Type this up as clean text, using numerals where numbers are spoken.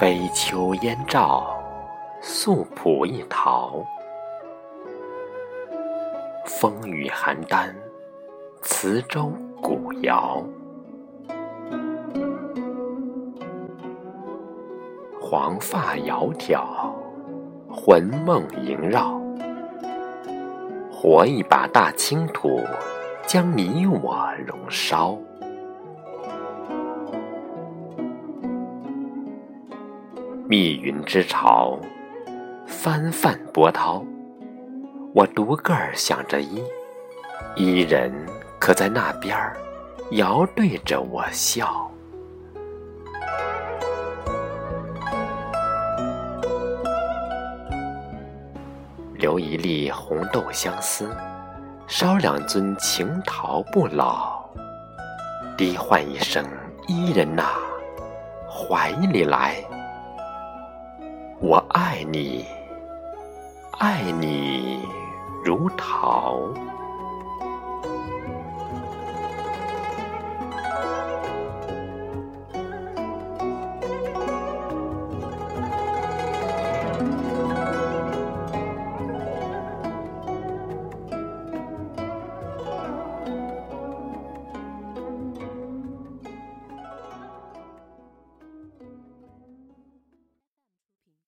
北秋燕赵，素朴一陶。风雨邯郸，磁州古谣。黄发窈窕，魂梦萦绕。活一把大青土，将你我燃烧。密云之潮，翻泛波涛。我独个儿想着伊人可在那边儿遥对着我笑。留一粒红豆相思，烧两樽情陶不老。低唤一声伊人哪，怀里来。我爱你，爱你如桃。